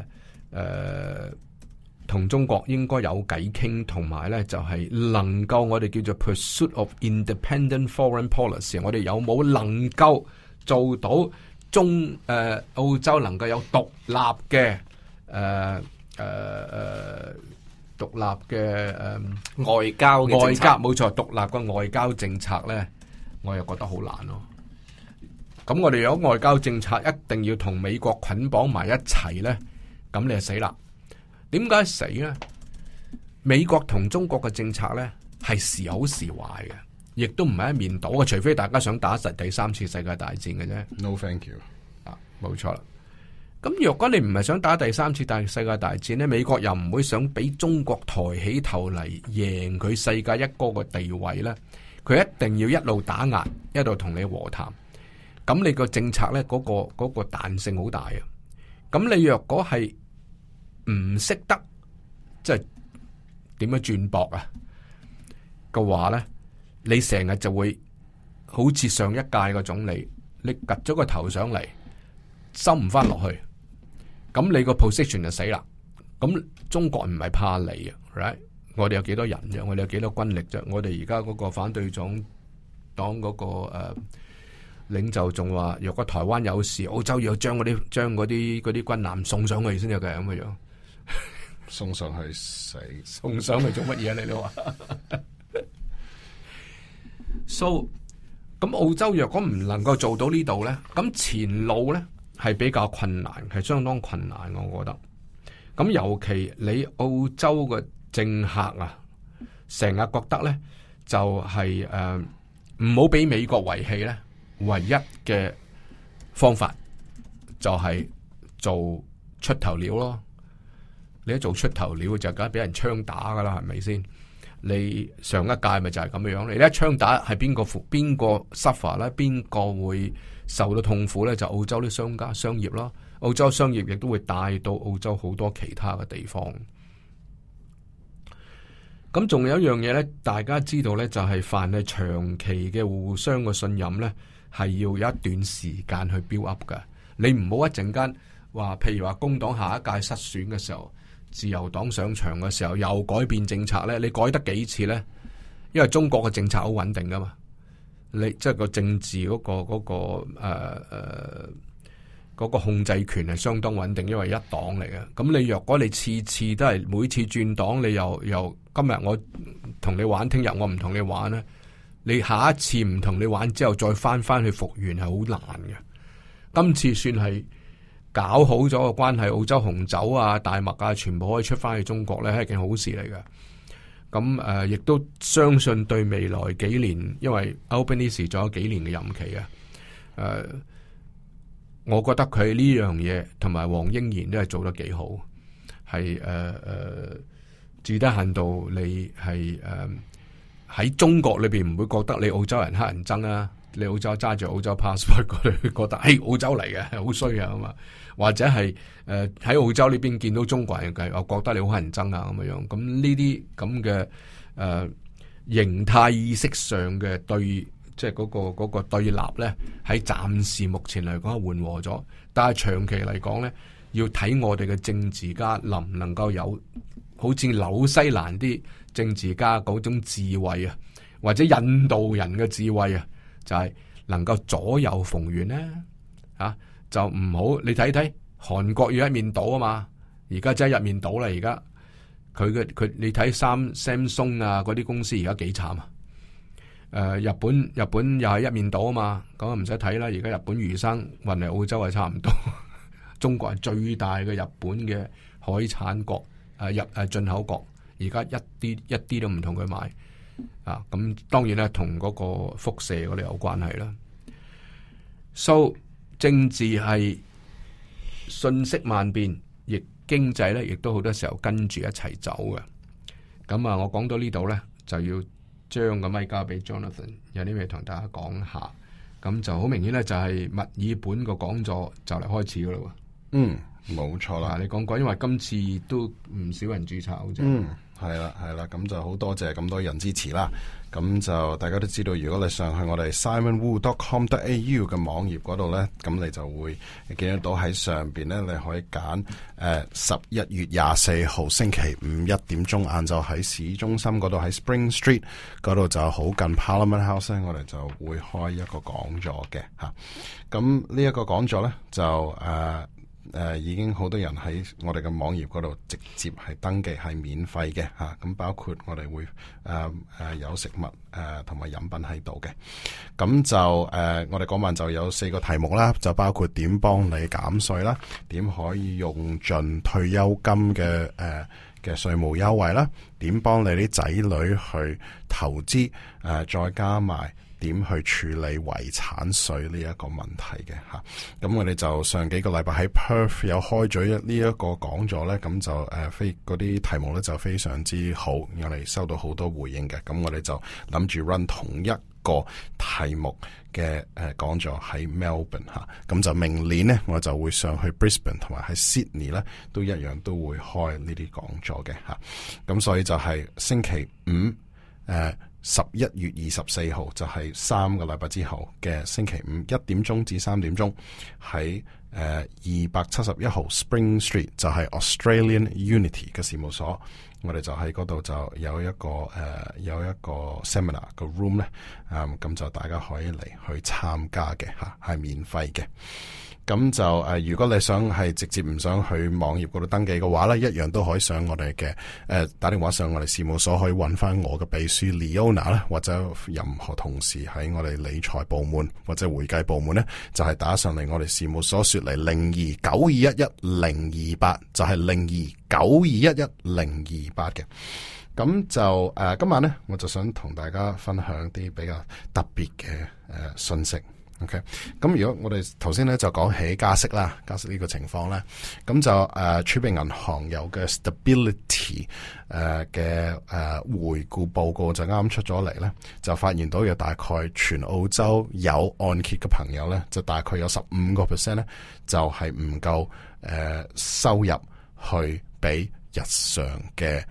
同中國應該有偈傾，同埋咧就係能夠我哋叫做 pursuit of independent foreign policy， 我哋有冇能夠做到澳洲能夠有獨立嘅外交冇錯，獨立嘅外交政策咧，我又覺得好難咯。咁我哋有外交政策一定要同美國捆綁埋一齊咧，咁你就死啦。點解死咧？美國同中國嘅政策咧係時好時壞嘅，亦都唔係一面倒嘅，除非大家想打實第3次世界大戰嘅啫。 No thank you。 冇錯啦。咁若果你唔係想打第3次世界大戰咧，美國又唔會想俾中國抬起頭嚟贏佢世界一哥嘅地位咧，佢一定要一路打壓，一路同你和談。咁你個政策咧，嗰個彈性好大啊！咁你若果係唔識得即係點樣轉駁啊嘅話咧，你成日就會好似上一屆個總理，你擳咗個頭上嚟，收唔翻落去，咁你個 position 就死啦。咁中國唔係怕你啊 ，right？ 我哋有幾多人啫？我哋有幾多軍力啫？我哋而家嗰個反對黨嗰個領袖仲話，若果台灣有事，澳洲要將嗰啲軍艦送上去先有嘅咁嘅樣。 送上去死， 送上去做乜嘢？你都話，so 咁澳洲若果唔能夠做到呢度咧，咁前路咧係比較困難，係相當困難，我覺得。咁尤其你澳洲嘅政客啊，成日覺得咧就係唔好俾美國遺棄咧，唯一嘅方法就係做出頭鳥咯。你一做出頭鳥就梗係俾人槍打噶啦，係咪先？你上一屆咪就係咁樣，你一槍打係邊個 suffer 咧？邊個會受到痛苦咧？就澳洲啲商業咯，澳洲商業亦都會帶到澳洲好多其他嘅地方。咁仲有一樣嘢咧，大家知道咧，就係凡係長期嘅互相嘅信任咧，係要有一段時間去 build up 噶。你唔好一陣間話，譬如話工黨下一屆失選嘅時候，自由黨上場嘅時候又改變政策咧，你改得幾次咧？因為中國嘅政策好穩定噶嘛，你即係個政治嗰個控制權係相當穩定，因為一黨嚟嘅。咁你若果你次次都係每次轉黨，你又今日我同你玩，聽日我唔同你玩咧，你下一次唔同你玩之後再翻去復原係好難嘅。今次算係搞好咗個關係，澳洲紅酒啊、大麥啊，全部可以出翻去中國咧，係一件好事嚟嘅。咁亦都相信對未來幾年，因為 Albanese 仲有幾年嘅任期啊。我覺得佢呢樣嘢同埋黃英賢都係做得幾好，係至低限度你係喺中國裏邊唔會覺得你澳洲人黑人憎啊， 你澳洲揸住澳洲 passport 嗰度覺得澳洲嚟嘅好衰啊嘛，或者係喺澳洲呢邊見到中國人嘅，我覺得你好乞人憎啊咁樣。咁呢啲咁嘅形態意識上嘅即係嗰個對立咧，喺暫時目前嚟講係緩和咗，但係長期嚟講咧，要睇我哋嘅政治家能唔能夠有好似紐西蘭啲政治家嗰種智慧啊，或者印度人嘅智慧啊，就係能夠左右逢源咧就唔好你睇睇韓國要一面倒啊嘛，而家真係一面倒啦，而家佢你睇Samsung 啊嗰啲公司而家幾慘啊！日本又係一面倒啊嘛，咁啊唔使睇啦。而家日本魚生運嚟澳洲係差唔多，中國係最大嘅日本嘅海產國，進口國，而家一啲都唔同佢買啊。咁當然咧，同嗰個輻射嗰度有關係啦。So 政治係瞬息萬變，亦經濟咧亦都好多時候跟住一齊走嘅。咁啊，我講到呢度咧就要將個咪交俾 Jonathan， 有啲咩同大家講下。咁就好明顯咧，就係墨爾本個講座就嚟開始噶啦。 冇錯啦。 你講過，因為今次都唔少人註冊好似。 係啦，咁就好多謝咁多人支持啦。咁就大家都知道，如果你上去我哋 simonwu.com.au 嘅網頁嗰度咧，咁你就會見得到喺上邊咧，你可以揀11月24號星期五1點鐘晏晝喺市中心嗰度喺 Spring Street 嗰度就好近 Parliament House 咧，我哋就會開一個講座嘅嚇。咁呢一個講座咧就已經好多人喺我哋嘅網頁嗰度直接係登記，係免費嘅嚇。咁包括我哋會有食物同埋飲品喺度嘅。咁就我哋嗰晚就有4個題目啦，就包括點幫你減稅啦，點可以用盡退休金嘅稅務優惠啦，點幫你啲仔女去投資再加埋點去處理遺產稅呢一個問題嘅嚇。咁我哋就上幾個禮拜喺 Perth 有開咗呢一個講座咧，咁就嗰啲題目咧就非常之好，我哋收到好多回應嘅。咁我哋就諗住 run 同一個題目嘅講座喺 Melbourne 嚇。咁就明年呢，我就會上去 Brisbane 同埋喺 Sydney 咧都一樣都會開呢啲講座嘅嚇。咁所以就係星期五11月24號就係3個禮拜之後嘅星期五1點鐘至3點鐘喺271號 Spring Street 就係 Australian Unity 嘅事務所，我哋就喺嗰度就有一個 seminar 個 room 咧，咁就大家可以嚟去參加嘅嚇，係免費嘅。咁就如果你想係直接唔想去網頁嗰度登記嘅話咧，一樣都可以上我哋嘅打電話上我哋事務所，可以揾翻我嘅秘書 Leona 啦，或者任何同事喺我哋理財部門或者會計部門咧，就係打上嚟我哋事務所說嚟0292111028，就係0292111028嘅。咁就今晚咧，我就想同大家分享啲比較特別嘅信息。OK， 咁如果我哋頭先咧就講起加息啦，加息呢個情況咧，咁就儲備銀行有嘅 stability 嘅回顧報告就啱出咗嚟咧，就發現到有大概全澳洲有按揭嘅朋友咧，就大概有15% 咧，就係唔夠收入去俾日常嘅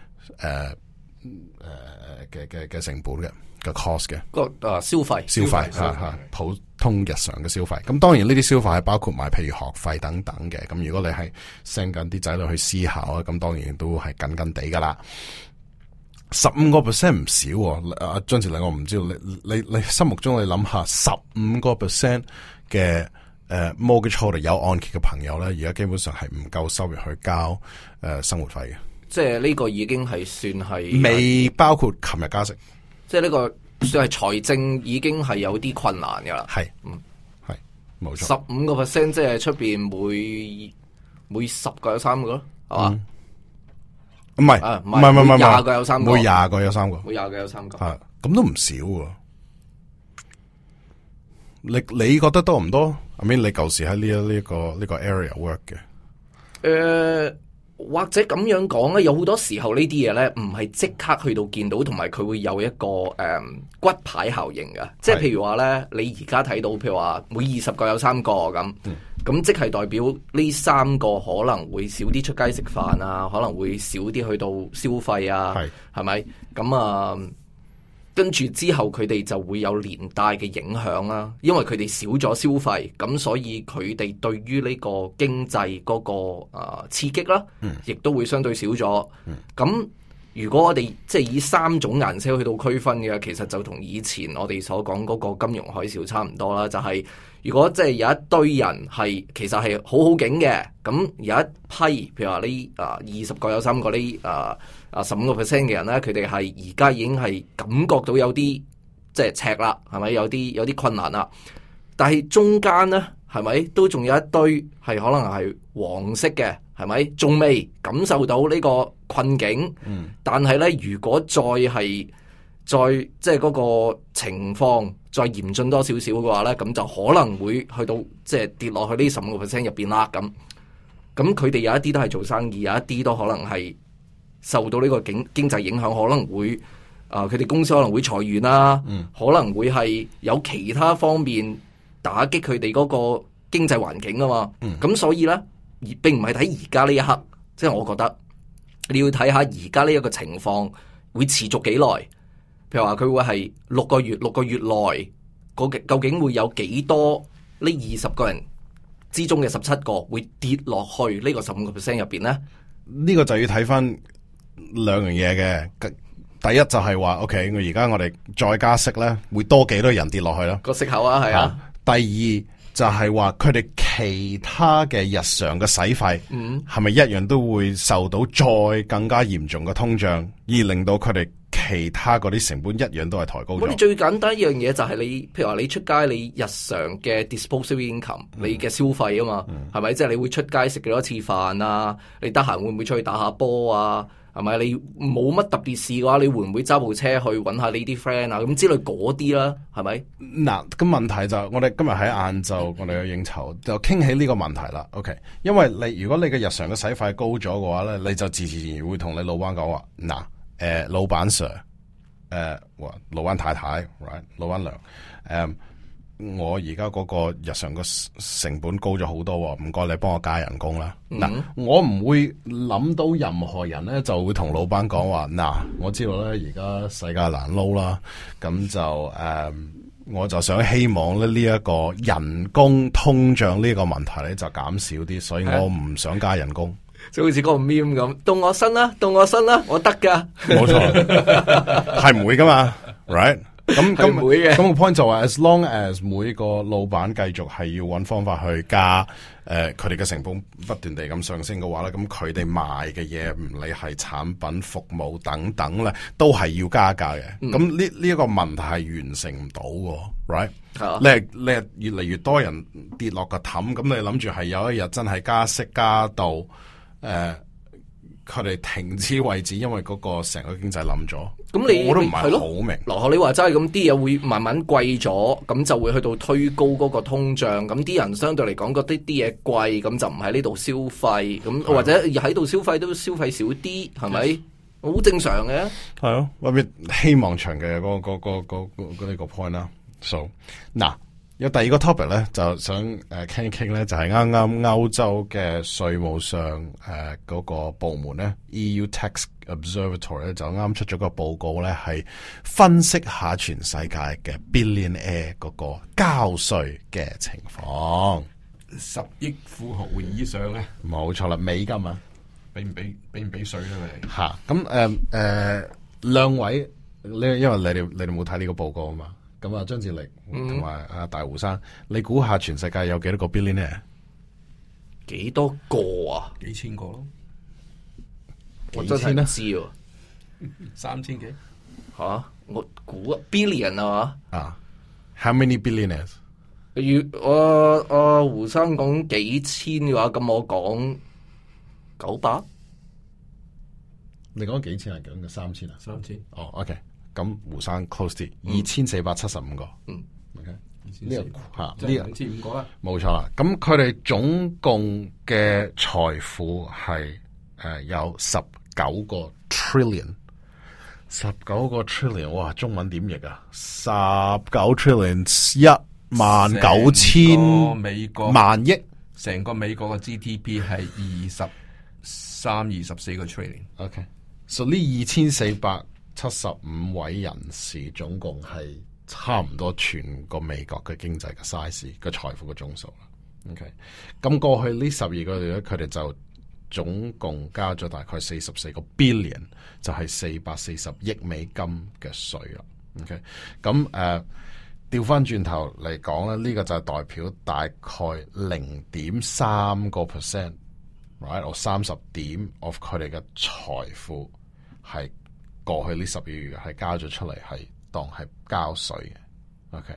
嘅成本嘅cost 嘅消費嚇普通日常嘅消費。咁當然呢啲消費係包括埋譬如學費等等嘅。咁如果你係 send 緊啲仔女去私校啊，咁當然都係緊緊地噶啦。15% 唔少喎。阿張志禮，我唔知道你心目中你諗下15% 嘅mortgage holder 有按揭嘅朋友咧，而家基本上係唔夠收入去交生活費嘅。 即係呢個已經係算係未包括琴日加息。 即係呢個算係財政已經係有啲困難噶啦， 係，係冇錯。 15% 即係出邊每10個有3個咯，係嘛？ 唔係 20個有3個， 每20個有3個， 每20個有3個， 係咁都唔少喎。你覺得多唔多？I mean，你舊時喺呢個 area work 嘅？ 或者咁樣講咧，有好多時候呢啲嘢咧，唔係即刻去到見到，同埋佢會有一個骨牌效應嘅。即係譬如話咧，你而家睇到，譬如話每20個有3個咁，咁即係代表呢3個可能會少啲出街食飯啊，可能會少啲去到消費啊，係咪？咁啊，跟住之後佢哋就會有連帶嘅影響啦，因為佢哋少咗消費，咁所以佢哋對於呢個經濟嗰個刺激啦，亦都會相對少咗。咁如果我哋即係以3種顏色去到區分嘅，其實就同以前我哋所講嗰個金融海嘯差唔多啦。就係如果即係有一堆人係其實係好好景嘅，咁有一批譬如話呢20個有3個呢15% 嘅人咧，佢哋係而家已經係感覺到有啲即係赤啦，係咪有啲困難啦？但係中間咧，係咪都仲有一堆係可能係黃色嘅，係咪仲未感受到呢個困境？但係咧，如果再即係嗰個情況再嚴峻多少少嘅話咧，咁就可能會去到即係跌落去呢15% 入邊啦。咁佢哋有一啲都係做生意，有一啲都可能係受到呢個經濟影響，可能會佢哋公司可能會裁員啦，可能會係有其他方面打擊佢哋嗰個經濟環境啊嘛。咁所以咧，並唔係睇而家呢一刻，即係我覺得你要睇下而家呢一個情況會持續幾耐。譬如話佢會係6個月內，究竟會有幾多呢20個人之中嘅17個會跌落去呢個15% 入邊咧？ 呢個就要睇翻2樣嘢嘅。第一就係話 ，OK， 我哋再加息咧，會多幾多人跌落去咯？ 個息口啊，係啊。 第二就係話佢哋其他嘅日常嘅使費，係咪一樣都會受到再更加嚴重嘅通脹，而令到佢哋其他嗰啲成本一樣都係抬高咗？ 我哋最簡單一樣嘢就係你，譬如話你出街，你日常嘅 disposable income，你嘅消費啊嘛，係咪？即係你會出街食幾多次飯啊？你得閒會唔會出去打下波啊？係咪？你冇乜特別事嘅話，你會唔會揸部車去揾下你啲 friend 啊？咁之類嗰啲啦，係咪？ 嗱，咁問題就我哋今日喺晏晝，我哋有應酬就傾起呢個問題啦。OK， 因為如果你嘅日常嘅使費高咗嘅話咧，你就自然會同你老闆講話，嗱，老闆 Sir， 老闆太太 ，right， 老闆娘，我而家嗰個日常嘅成本高咗好多，唔該你幫我加人工啦。嗱，我唔會諗到任何人咧就會同老闆講話，我知道咧而家世界難撈啦，咁就我就想希望咧呢一個人工通脹呢個問題咧就減少啲，所以我唔想加人工。 就好似嗰個 meme 咁，到我身啦，我得噶。 冇錯，係唔會噶嘛 ，right？咁個 point 就話 ，as long as 每個老闆繼續係要揾方法去加，佢哋嘅成本不斷地咁上升嘅話咧，咁佢哋賣嘅嘢唔理係產品、服務等等咧，都係要加價嘅。咁呢一個問題係完成唔到嘅 ，right？你係越嚟越多人跌落個氹，咁你諗住係有一日真係加息加到佢哋停止為止，因為嗰個成個經濟冧咗。咁我都唔係好明。 羅學你話齋，咁啲嘢會慢慢貴咗，咁就會去到推高嗰個通脹。咁啲人相對嚟講覺得啲嘢貴，咁就唔喺呢度消費。咁或者喺度消費都消費少啲，係咪？好正常嘅。 係咯，或者希望長嘅嗰呢個 point 啦。So 嗱。有第二個 topic 咧，就想傾一傾咧，就係啱啱歐洲嘅稅務上嗰個部門咧 EU Tax Observatory 咧就啱出咗個報告咧，係分析下全世界嘅 billionaire 嗰個交稅嘅情況。 10億富豪以上咧， 冇錯啦，美金啊， 俾唔俾稅咧？ 嚇咁兩位呢？因為你哋冇睇呢個報告啊嘛。咁啊，張志力同埋阿大胡生，你估下全世界有幾多個 billionaire？ 幾多個啊？ 幾千個咯？ 我真係唔知喎 ，3000幾嚇？我估 billion 啊嘛 ？How many billionaires？ 胡生講幾千嘅話，咁我講900。 你講幾千係講嘅3000啊 ？3000。 哦，OK。咁胡生 close 啲，2475個。OK， 呢個嚇呢個 2500個啦， 冇錯啦。咁佢哋總共嘅財富係有19個 trillion， 19個 trillion， 哇，中文點譯啊？19 trillion 19000 美國萬億， 成個美國嘅 GDP 係24個 trillion。 OK， 所以呢2475位人士總共係差唔多全個美國嘅經濟嘅 size 嘅財富嘅總數啦。OK， 咁過去呢12個月咧，佢哋就總共交咗大概44個 billion， 就係440億美金嘅稅啦。OK， 咁調翻轉頭嚟講咧，呢個就係代表大概 0.3%， right， 或30點 of 佢哋嘅財富係過去呢12個月係交咗出嚟，係當係交稅嘅。OK，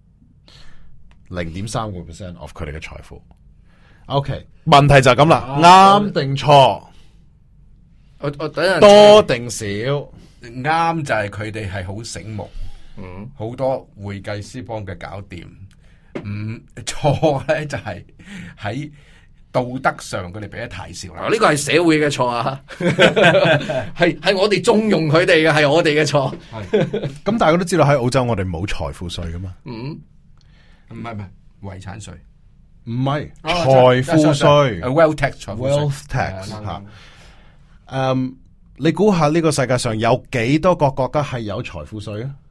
0.3% of 佢哋嘅財富。OK， 問題就係咁啦，啱定錯？ 我等陣多定少？ 啱就係佢哋係好醒目，好多會計師幫佢搞掂。唔錯咧，就係喺道德上佢哋俾得太少啦。 呢個係社會嘅錯啊，係我哋縱容佢哋嘅，係我哋嘅錯。 咁大家都知道喺澳洲我哋冇財富稅噶嘛？ 唔係遺產稅， 唔係財富稅 ，wealth tax， wealth tax 吓。你估下呢個世界上有幾多個國家係有財富稅啊？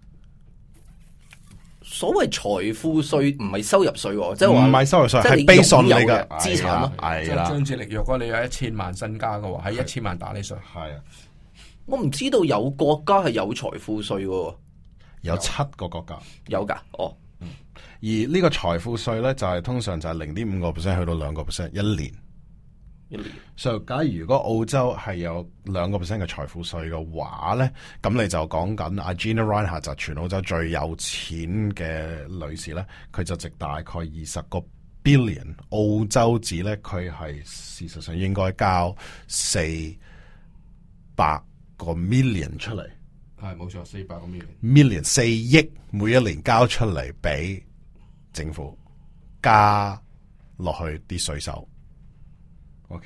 所謂財富稅唔係收入稅，即係話唔係收入稅，係 based on 你嘅資產咯。 係啦， 張志力，若果你有1000萬身家嘅話，喺1000萬打你稅。 係啊， 我唔知道有國家係有財富稅嘅， 有7個國家有噶。哦， 而呢個財富稅咧就係通常就係0.5% 去到2%一年。所以假如果澳洲係有2% 嘅財富稅嘅話咧，咁你就講緊阿 Gina Rinehart 就全澳洲最有錢嘅女士咧，佢就值大概20個 billion 澳洲紙咧，佢係事實上應該交400個 million 出嚟。 係冇錯，400個 million 4億每一年交出嚟俾政府，加落去啲稅收。OK，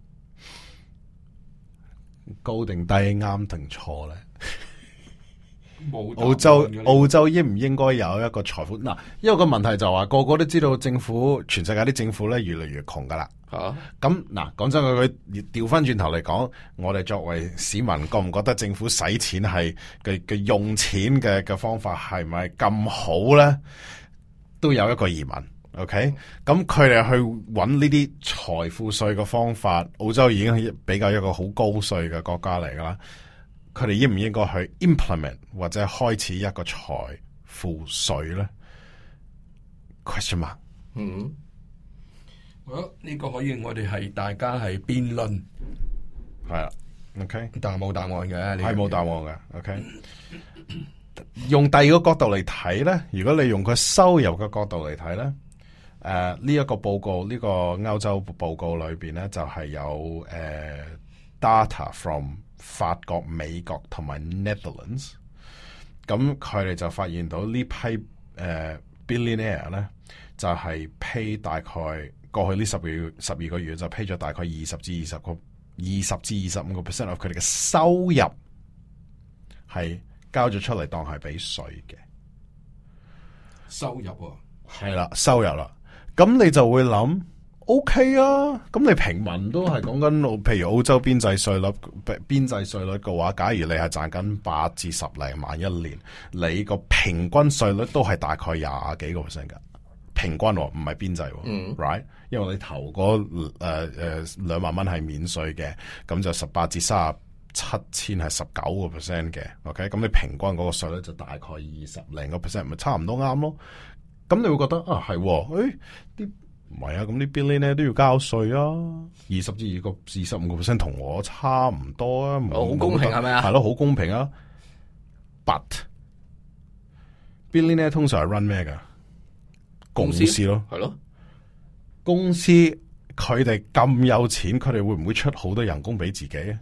高定低，啱定錯咧？澳洲應唔應該有一個財富？嗱，因為個問題就話個個都知道政府，全世界啲政府咧越嚟越窮噶啦。咁嗱，講真佢調翻轉頭嚟講，我哋作為市民，覺唔覺得政府使錢係嘅用錢嘅方法係咪咁好咧？都有一個疑問。OK， 咁佢哋去揾呢啲財富稅嘅方法，澳洲已經係比較一個好高稅嘅國家嚟噶啦。佢哋應唔應該去 implement 或者開始一個財富稅咧 ？Question mark。 呢個可以我哋係大家係辯論， 係啦。OK， 但係冇答案嘅， 係冇答案嘅。OK， 用第二個角度嚟睇咧，如果你用佢收入嘅角度嚟睇咧。呢一個報告，呢個歐洲報告裏邊咧，就係有data from 法國、美國同埋 Netherlands。咁佢哋就發現到呢批billionaire 咧，就係 pay 大概過去呢12個月就 pay 咗大概20至25% of 佢哋嘅收入係交咗出嚟當係俾稅嘅收入喎。 係啦，收入啦。咁你就會諗 ，OK 啊，咁你平民都係講緊，譬如澳洲邊際稅率嘅話，假如你係賺緊8至10零萬一年，你個平均稅率都係大概20幾個%噶，平均唔係邊際，right？ 因為你頭嗰2萬蚊係免稅嘅，咁就18至37千係19% 嘅 ，OK？ 咁你平均嗰個稅率就大概20零個%，咪差唔多啱咯。咁你會覺得啊係，啲唔係啊，咁啲 billionaire 都要交稅啊，20至25% 同我差唔多啊， 好公平係咪啊？ 係咯，好公平啊。But billionaire 通常係 run 咩噶？公司咯， 係咯， 公司佢哋咁有錢，佢哋會唔會出好多人工俾自己啊？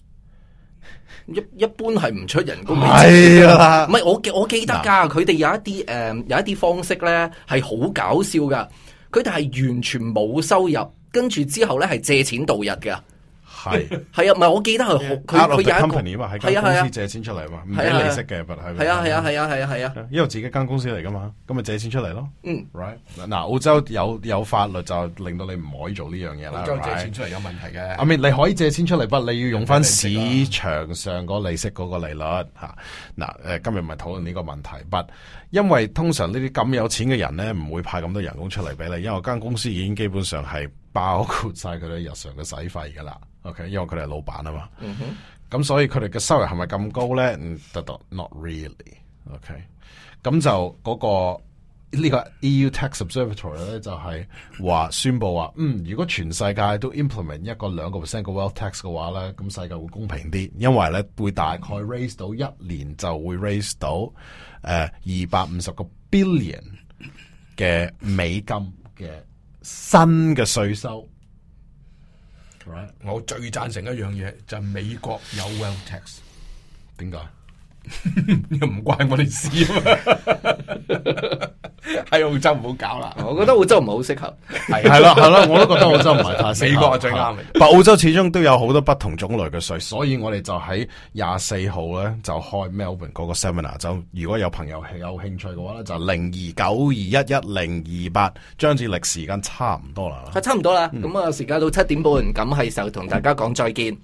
一般係唔出人工俾自己啦， 唔係我記得噶，佢哋有一啲方式咧係好搞笑噶，佢哋係完全冇收入，跟住之後咧係借錢度日噶。 係係啊，唔係我記得係佢 out of 有 the 一個 company 嘛，喺間公司借錢出嚟嘛，唔俾利息嘅， 係啊， 因為自己間公司嚟噶嘛，咁咪借錢出嚟咯。right 嗱，澳洲有法律就令到你唔可以做呢樣嘢啦。 澳洲借錢出嚟有問題嘅。 I mean 你可以借錢出嚟，不過你要用翻市場上個利息嗰個利率吓。嗱，今日唔係討論呢個問題，but 因為通常呢啲咁有錢嘅人咧，唔會派咁多人工出嚟俾你，因為間公司已經基本上係包括晒佢哋日常嘅使費噶啦。OK， 因為佢哋係老闆啊嘛。咁所以佢哋嘅收入係咪咁高咧？Not really。OK， 咁就嗰個呢個 EU Tax Observatory 咧就係話宣布話，如果全世界都 implement 一個2% 嘅 wealth tax 嘅話咧，咁世界會公平啲，因為咧會大概 raise 到一年就會 raise 到250個 billion 嘅美金嘅新嘅稅收。Right. 我最贊成一樣嘢就係美國有 wealth tax， 點解？ 又唔關我哋事啊嘛！喺澳洲唔好搞啦， 我覺得澳洲唔係好適合。 係咯，我都覺得澳洲唔係太適合。 美國係最啱嘅。 但澳洲始終都有好多不同種類嘅稅，所以我哋就喺24號咧就開 Melbourne 嗰個 seminar。就如果有朋友係有興趣嘅話咧，就0292111028。張志力時間差唔多啦， 差唔多啦。咁啊，時間到7點半，咁係時候同大家講再見。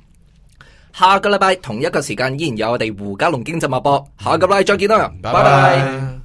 下個禮拜同一個時間依然有我哋胡嘉龍經濟脈搏，下個禮拜再見啦，拜拜。